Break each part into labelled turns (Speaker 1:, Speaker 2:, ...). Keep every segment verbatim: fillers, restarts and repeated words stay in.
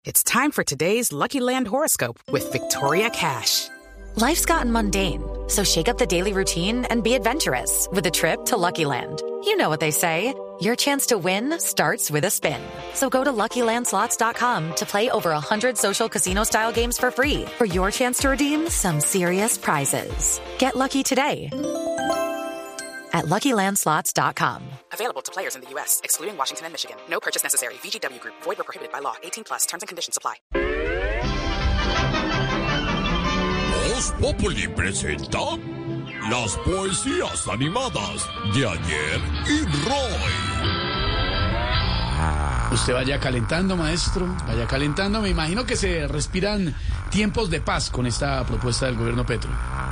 Speaker 1: It's time for today's Lucky Land horoscope with Victoria Cash.
Speaker 2: Life's gotten mundane, so shake up the daily routine and be adventurous with a trip to Lucky Land. You know what they say, your chance to win starts with a spin. So go to Lucky Land Slots dot com to play over one hundred social casino-style games for free for your chance to redeem some serious prizes. Get lucky today at Lucky Land Slots dot com.
Speaker 1: Available to players in the U S, excluding Washington and Michigan. No purchase necessary. V G W Group. Void or prohibited by law. eighteen plus. Terms and conditions apply.
Speaker 3: Voz Populi presenta las poesías animadas de ayer y Roy.
Speaker 4: Usted vaya calentando, maestro, vaya calentando. Me imagino que se respiran tiempos de paz con esta propuesta del gobierno Petro.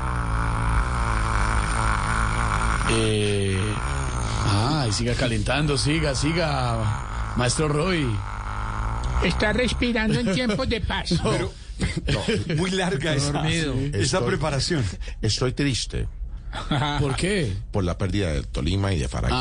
Speaker 4: Eh, ah, y siga calentando, siga, siga, maestro Roy.
Speaker 5: Está respirando en tiempos de paz.
Speaker 4: No.
Speaker 6: Pero, no, muy larga esa, esa
Speaker 7: Estoy-
Speaker 6: preparación.
Speaker 7: Estoy triste
Speaker 4: ¿Por qué?
Speaker 7: por la pérdida de Tolima y de Faray.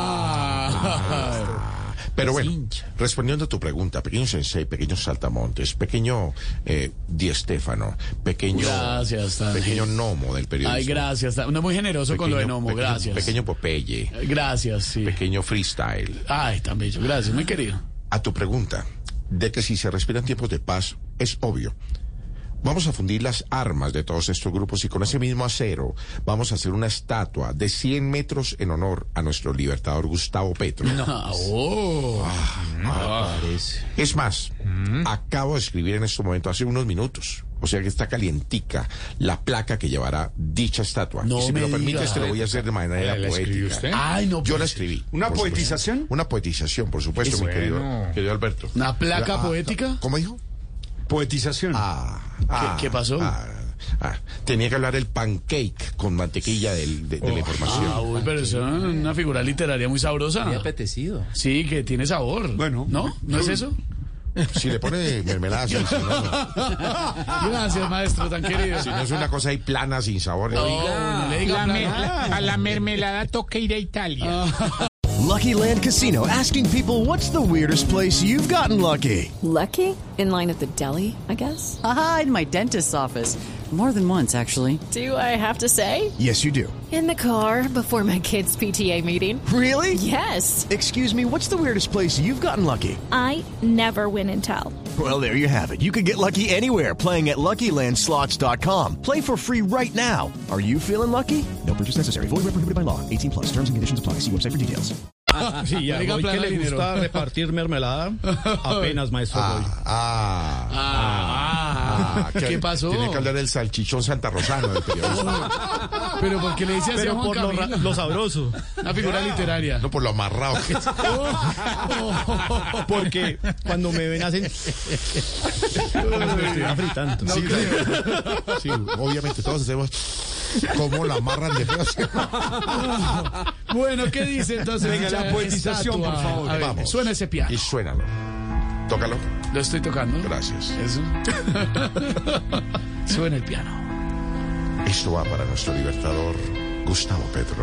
Speaker 4: Ah,
Speaker 7: Pero bueno, respondiendo a tu pregunta, pequeño Sensei, pequeño Saltamontes, pequeño eh, Di Stéfano, pequeño,
Speaker 4: Gracias, Dani.
Speaker 7: pequeño Nomo del periodismo.
Speaker 4: ay, gracias. No, muy generoso con lo de Nomo,
Speaker 7: pequeño-
Speaker 4: gracias.
Speaker 7: Pequeño Popeye,
Speaker 4: Gracias, sí.
Speaker 7: pequeño Freestyle.
Speaker 4: Ay, tan bello, gracias, muy querido.
Speaker 7: A tu pregunta, de que si se respiran tiempos de paz, es obvio. Vamos a fundir las armas de todos estos grupos y con ese mismo acero vamos a hacer una estatua de cien metros en honor a nuestro libertador Gustavo Petro.
Speaker 4: Ah, oh.
Speaker 7: Es más, acabo de escribir en este momento, hace unos minutos, o sea que está calientica la placa que llevará dicha estatua.
Speaker 4: No
Speaker 7: y si me,
Speaker 4: me
Speaker 7: lo permites,
Speaker 4: diga.
Speaker 7: te lo voy a hacer de manera
Speaker 6: ¿La escribió
Speaker 7: poética.
Speaker 6: usted?
Speaker 4: Ay, no.
Speaker 7: Yo la
Speaker 4: pues,
Speaker 7: escribí.
Speaker 6: ¿Una
Speaker 7: por supuesto.
Speaker 6: poetización?
Speaker 7: Una poetización, por supuesto,
Speaker 6: Es
Speaker 7: mi querido,
Speaker 6: bueno.
Speaker 7: querido Alberto.
Speaker 4: ¿Una placa
Speaker 7: Ah,
Speaker 4: poética?
Speaker 7: ¿Cómo dijo?
Speaker 6: Poetización.
Speaker 7: Ah, ah,
Speaker 4: qué pasó?
Speaker 7: ah, ah. Tenía que hablar el pancake con mantequilla del- de, de la información.
Speaker 4: Ah, uy, pero eso es una figura literaria muy sabrosa.
Speaker 8: Muy apetecido.
Speaker 4: Sí, que tiene sabor.
Speaker 6: Bueno.
Speaker 4: ¿No? ¿No es eso?
Speaker 7: Si le pone mermelada, sí, si no, no.
Speaker 4: Gracias, maestro, tan querido.
Speaker 7: Si no es una cosa ahí plana, sin sabor.
Speaker 4: No, no le diga
Speaker 5: La me-
Speaker 4: plana.
Speaker 5: a la mermelada toca ir a Italia.
Speaker 9: Lucky Land Casino, asking people, what's the weirdest place you've gotten lucky?
Speaker 10: Lucky? In line at the deli, I guess?
Speaker 8: Aha, in my dentist's office. More than once, actually.
Speaker 10: Do I have to say?
Speaker 9: Yes, you do.
Speaker 10: In the car before my kids' P T A meeting.
Speaker 9: Really?
Speaker 10: Yes.
Speaker 9: Excuse me, what's the weirdest place you've gotten lucky?
Speaker 11: I never win and tell.
Speaker 9: Well, there you have it. You can get lucky anywhere, playing at Lucky Land Slots dot com. Play for free right now. Are you feeling lucky? No purchase necessary. Void where prohibited by law. eighteen plus. Terms and conditions apply. See website for details.
Speaker 12: Sí, ya,
Speaker 4: Oiga,
Speaker 12: Roy,
Speaker 4: plana
Speaker 12: que le
Speaker 4: dinero.
Speaker 12: gusta repartir mermelada, apenas, maestro Roy.
Speaker 7: Ah, ah,
Speaker 4: Ah,
Speaker 7: que-
Speaker 4: ¿qué pasó?
Speaker 7: Tiene que hablar del salchichón santarrosano del periodismo.
Speaker 4: Pero ¿por qué le dice así a
Speaker 12: Pero
Speaker 4: Juan
Speaker 12: por lo, ra-
Speaker 4: Camilo?
Speaker 12: lo sabroso.
Speaker 4: Una figura literaria.
Speaker 7: No por lo amarrado que es.
Speaker 12: Porque cuando me ven hacen... Como si me estuviera fritando.
Speaker 7: Sí, sí, obviamente todos hacemos como la amarran de feo.
Speaker 4: Bueno, ¿qué dice entonces?
Speaker 6: Venga, la
Speaker 4: dicha
Speaker 6: poetización,
Speaker 4: estatua?
Speaker 6: por favor.
Speaker 4: A ver,
Speaker 7: Vamos.
Speaker 4: suena ese piano.
Speaker 7: Y suénalo. Tócalo.
Speaker 4: Lo estoy tocando.
Speaker 7: Gracias.
Speaker 4: Eso. Suena el piano.
Speaker 7: Esto va para nuestro libertador Gustavo Petro.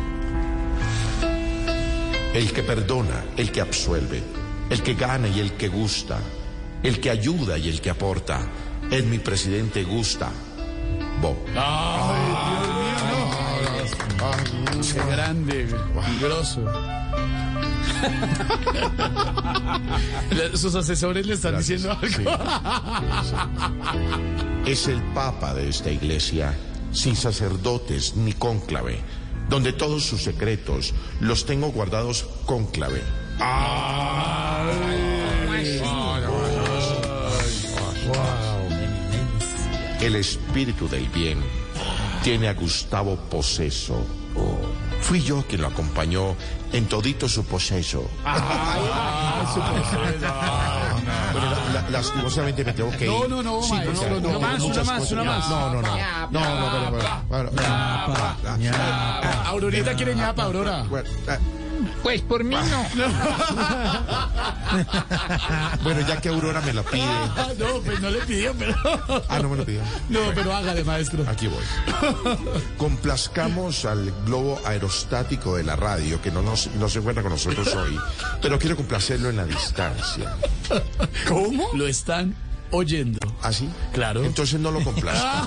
Speaker 7: El que perdona, el que absuelve, el que gana y el que gusta, el que ayuda y el que aporta, es mi presidente Gusta. Bo.
Speaker 4: Qué grande, grosso. Sus asesores le están
Speaker 7: Gracias.
Speaker 4: diciendo algo.
Speaker 7: Sí. Es el papa de esta iglesia, sin sacerdotes ni cónclave, donde todos sus secretos los tengo guardados cónclave. El espíritu del bien tiene a Gustavo poseso. Fui yo quien lo acompañó en todito su poseso. Pero la- la- lastimosamente me tengo que ir.
Speaker 4: No, no, no,
Speaker 7: Sí,
Speaker 4: maestro,
Speaker 7: porque
Speaker 4: no,
Speaker 7: tengo
Speaker 4: más,
Speaker 7: muchas
Speaker 4: una más,
Speaker 7: cosas.
Speaker 4: una más.
Speaker 7: No, no, no. No, no, pero, pero, bueno,
Speaker 4: Ah, Aurorita quiere ñapa, Aurora.
Speaker 7: bueno, ah,
Speaker 5: Pues por mí no.
Speaker 7: bueno, ya que Aurora me la pide.
Speaker 4: Ah, no, pues no le pidió, pero...
Speaker 7: Ah, no me lo pidió.
Speaker 4: No, pero hágale, maestro.
Speaker 7: Aquí voy. Complazcamos al globo aerostático de la radio, que no, nos, no se encuentra con nosotros hoy, pero quiero complacerlo en la distancia.
Speaker 4: ¿Cómo? Lo están oyendo.
Speaker 7: ¿Ah, sí?
Speaker 4: Claro.
Speaker 7: Entonces no lo complazca.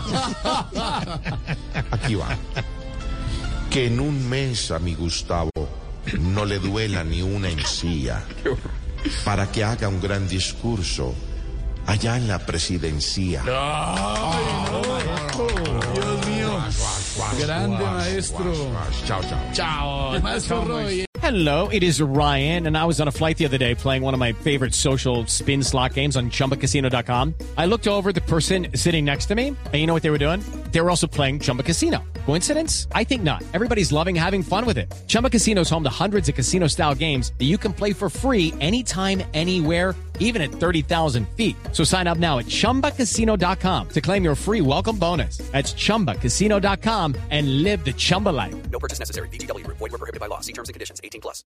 Speaker 7: Aquí va. Que en un mes a mi Gustavo no le duela ni una encía, para que haga un gran discurso allá en la presidencia.
Speaker 4: ¡Ay, no! Dios mío. Grande maestro.
Speaker 7: Chao, chao.
Speaker 4: Chao, maestro Roy.
Speaker 13: Hello, it is Ryan, and I was on a flight the other day playing one of my favorite social spin slot games on Chumba Casino dot com. I looked over at the person sitting next to me, and you know what they were doing? They were also playing Chumba Casino. Coincidence? I think not. Everybody's loving having fun with it. Chumba Casino is home to hundreds of casino-style games that you can play for free anytime, anywhere, even at thirty thousand feet. So sign up now at Chumba Casino dot com to claim your free welcome bonus. That's Chumba Casino dot com and live the Chumba life.
Speaker 1: No purchase necessary. V G W Group. Void where prohibited by law. See terms and conditions. eighteen plus.